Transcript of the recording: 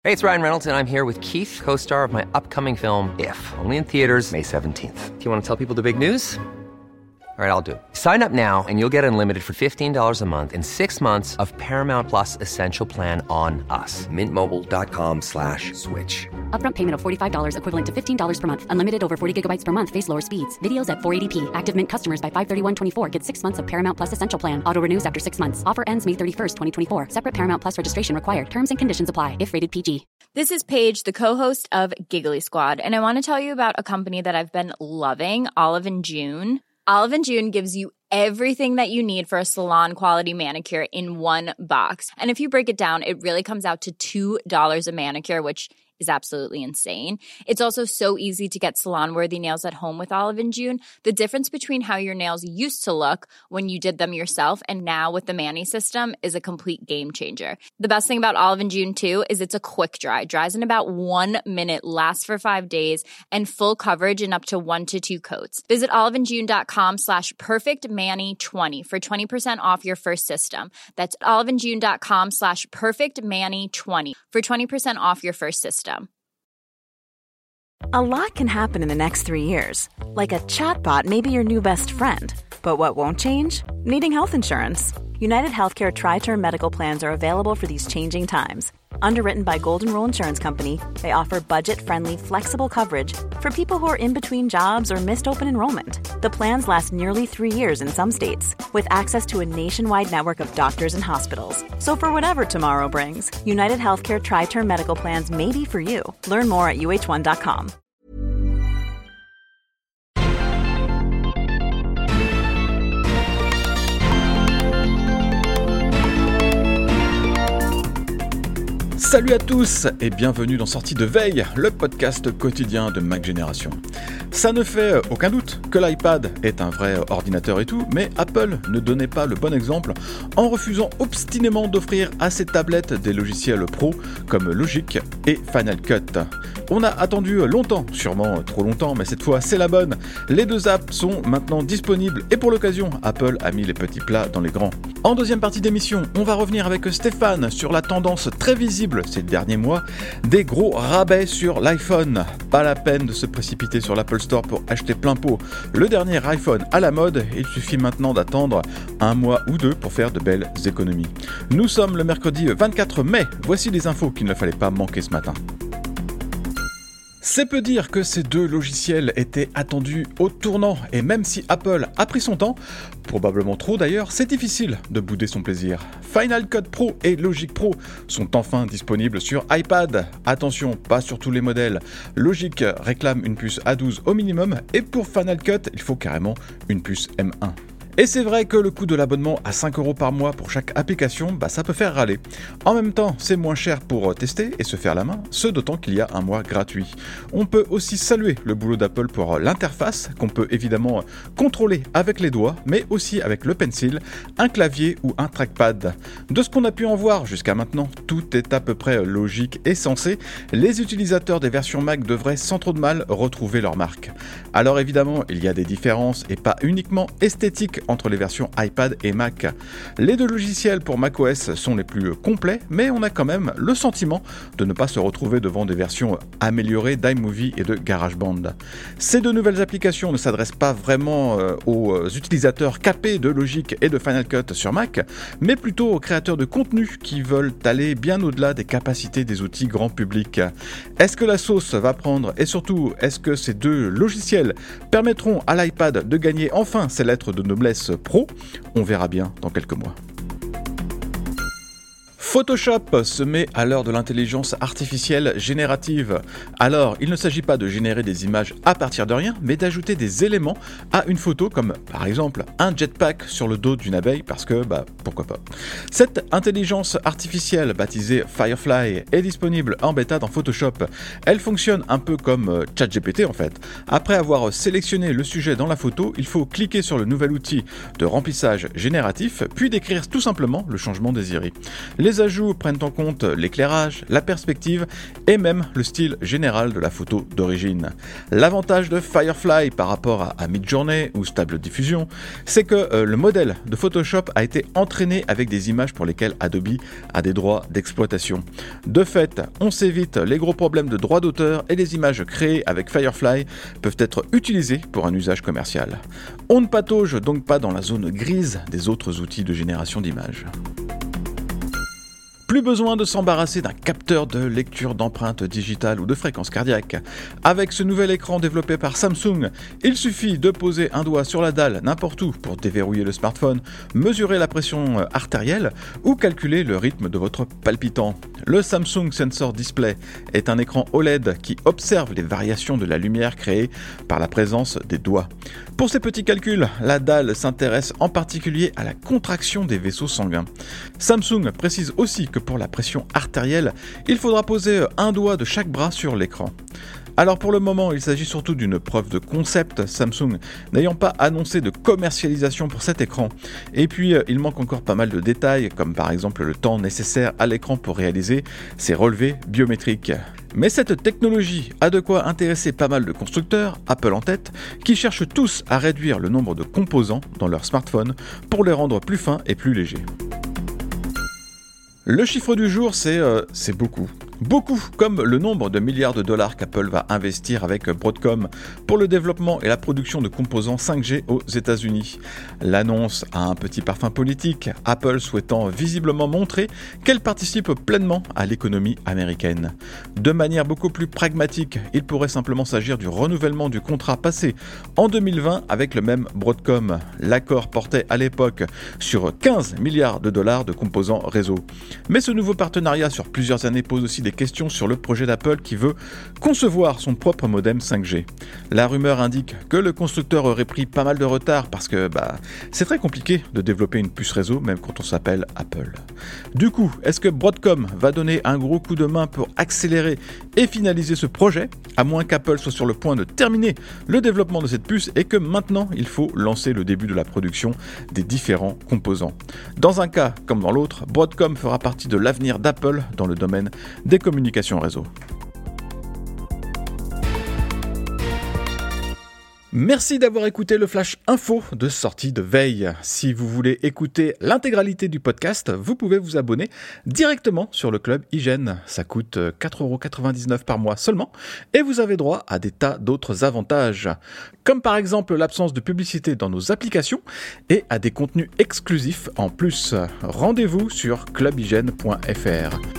Hey, it's Ryan Reynolds, and I'm here with Keith, co-star of my upcoming film, If, only in theaters May 17th. Do you want to tell people the big news? All right, I'll do it. Sign up now and you'll get unlimited for $15 a month and 6 months of Paramount Plus Essential Plan on us. MintMobile.com/switch. Upfront payment of $45 equivalent to $15 per month. Unlimited over 40 gigabytes per month. Face lower speeds. Videos at 480p. Active Mint customers by 531.24 get 6 months of Paramount Plus Essential Plan. Auto renews after 6 months. Offer ends May 31st, 2024. Separate Paramount Plus registration required. Terms and conditions apply if rated PG. This is Paige, the co-host of Giggly Squad, and I want to tell you about a company that I've been loving, Olive & June. Olive & June gives you everything that you need for a salon-quality manicure in one box. And if you break it down, it really comes out to $2 a manicure, which is absolutely insane. It's also so easy to get salon-worthy nails at home with Olive & June. The difference between how your nails used to look when you did them yourself and now with the Mani system is a complete game changer. The best thing about Olive & June, too, is it's a quick dry. Dries in about 1 minute, lasts for 5 days, and full coverage in up to 1 to 2 coats. Visit oliveandjune.com/perfectmani20 for 20% off your first system. That's oliveandjune.com/perfectmani20 for 20% off your first system. A lot can happen in the next 3 years. Like a chatbot may be your new best friend. But what won't change? Needing health insurance. United Healthcare Tri-Term Medical Plans are available for these changing times. Underwritten by Golden Rule Insurance Company, they offer budget-friendly, flexible coverage for people who are in between jobs or missed open enrollment. The plans last nearly 3 years in some states, with access to a nationwide network of doctors and hospitals. So for whatever tomorrow brings, United Healthcare Tri-Term Medical Plans may be for you. Learn more at uh1.com. Salut à tous et bienvenue dans Sortie de Veille, le podcast quotidien de Mac Génération. Ça ne fait aucun doute que l'iPad est un vrai ordinateur et tout, mais Apple ne donnait pas le bon exemple en refusant obstinément d'offrir à ses tablettes des logiciels pro comme Logic et Final Cut. On a attendu longtemps, sûrement trop longtemps, mais cette fois c'est la bonne. Les deux apps sont maintenant disponibles et pour l'occasion, Apple a mis les petits plats dans les grands. En deuxième partie d'émission, on va revenir avec Stéphane sur la tendance très visible ces derniers mois des gros rabais sur l'iPhone. Pas la peine de se précipiter sur l'Apple Store pour acheter plein pot le dernier iPhone à la mode, il suffit maintenant d'attendre 1 mois ou 2 pour faire de belles économies. Nous sommes le mercredi 24 mai, voici les infos qu'il ne fallait pas manquer ce matin. C'est peu dire que ces deux logiciels étaient attendus au tournant et même si Apple a pris son temps, probablement trop d'ailleurs, c'est difficile de bouder son plaisir. Final Cut Pro et Logic Pro sont enfin disponibles sur iPad. Attention, pas sur tous les modèles. Logic réclame une puce A12 au minimum et pour Final Cut, il faut carrément une puce M1. Et c'est vrai que le coût de l'abonnement à 5€ par mois pour chaque application, ça peut faire râler. En même temps, c'est moins cher pour tester et se faire la main, ce d'autant qu'il y a un mois gratuit. On peut aussi saluer le boulot d'Apple pour l'interface, qu'on peut évidemment contrôler avec les doigts, mais aussi avec le pencil, un clavier ou un trackpad. De ce qu'on a pu en voir jusqu'à maintenant, tout est à peu près logique et sensé. Les utilisateurs des versions Mac devraient sans trop de mal retrouver leur marque. Alors évidemment, il y a des différences et pas uniquement esthétiques entre les versions iPad et Mac. Les deux logiciels pour macOS sont les plus complets, mais on a quand même le sentiment de ne pas se retrouver devant des versions améliorées d'iMovie et de GarageBand. Ces deux nouvelles applications ne s'adressent pas vraiment aux utilisateurs capés de Logic et de Final Cut sur Mac, mais plutôt aux créateurs de contenu qui veulent aller bien au-delà des capacités des outils grand public. Est-ce que la sauce va prendre et surtout, est-ce que ces deux logiciels permettront à l'iPad de gagner enfin ses lettres de noblesse pro? On verra bien dans quelques mois. Photoshop se met à l'heure de l'intelligence artificielle générative. Alors, il ne s'agit pas de générer des images à partir de rien, mais d'ajouter des éléments à une photo, comme par exemple un jetpack sur le dos d'une abeille, parce que, pourquoi pas. Cette intelligence artificielle, baptisée Firefly, est disponible en bêta dans Photoshop. Elle fonctionne un peu comme ChatGPT en fait. Après avoir sélectionné le sujet dans la photo, il faut cliquer sur le nouvel outil de remplissage génératif, puis décrire tout simplement le changement désiré. Les ajouts prennent en compte l'éclairage, la perspective et même le style général de la photo d'origine. L'avantage de Firefly par rapport à Midjourney ou Stable Diffusion, c'est que le modèle de Photoshop a été entraîné avec des images pour lesquelles Adobe a des droits d'exploitation. De fait, on s'évite les gros problèmes de droits d'auteur et les images créées avec Firefly peuvent être utilisées pour un usage commercial. On ne patauge donc pas dans la zone grise des autres outils de génération d'images. Plus besoin de s'embarrasser d'un capteur de lecture d'empreintes digitales ou de fréquences cardiaques. Avec ce nouvel écran développé par Samsung, il suffit de poser un doigt sur la dalle n'importe où pour déverrouiller le smartphone, mesurer la pression artérielle ou calculer le rythme de votre palpitant. Le Samsung Sensor Display est un écran OLED qui observe les variations de la lumière créées par la présence des doigts. Pour ces petits calculs, la dalle s'intéresse en particulier à la contraction des vaisseaux sanguins. Samsung précise aussi que pour la pression artérielle, il faudra poser un doigt de chaque bras sur l'écran. Alors pour le moment, il s'agit surtout d'une preuve de concept, Samsung n'ayant pas annoncé de commercialisation pour cet écran. Et puis, il manque encore pas mal de détails, comme par exemple le temps nécessaire à l'écran pour réaliser ses relevés biométriques. Mais cette technologie a de quoi intéresser pas mal de constructeurs, Apple en tête, qui cherchent tous à réduire le nombre de composants dans leur smartphone pour les rendre plus fins et plus légers. Le chiffre du jour, c'est beaucoup. Beaucoup, comme le nombre de milliards de dollars qu'Apple va investir avec Broadcom pour le développement et la production de composants 5G aux États-Unis. L'annonce a un petit parfum politique, Apple souhaitant visiblement montrer qu'elle participe pleinement à l'économie américaine. De manière beaucoup plus pragmatique, il pourrait simplement s'agir du renouvellement du contrat passé en 2020 avec le même Broadcom. L'accord portait à l'époque sur 15 milliards de dollars de composants réseau. Mais ce nouveau partenariat sur plusieurs années pose aussi des questions sur le projet d'Apple qui veut concevoir son propre modem 5G. La rumeur indique que le constructeur aurait pris pas mal de retard parce que c'est très compliqué de développer une puce réseau même quand on s'appelle Apple. Du coup, est-ce que Broadcom va donner un gros coup de main pour accélérer et finaliser ce projet, à moins qu'Apple soit sur le point de terminer le développement de cette puce et que maintenant il faut lancer le début de la production des différents composants. Dans un cas comme dans l'autre, Broadcom fera partie de l'avenir d'Apple dans le domaine des communications réseau. Merci d'avoir écouté le Flash Info de sortie de veille. Si vous voulez écouter l'intégralité du podcast, vous pouvez vous abonner directement sur le club IGN. Ça coûte 4,99€ par mois seulement et vous avez droit à des tas d'autres avantages, comme par exemple l'absence de publicité dans nos applications et à des contenus exclusifs en plus. Rendez-vous sur clubign.fr.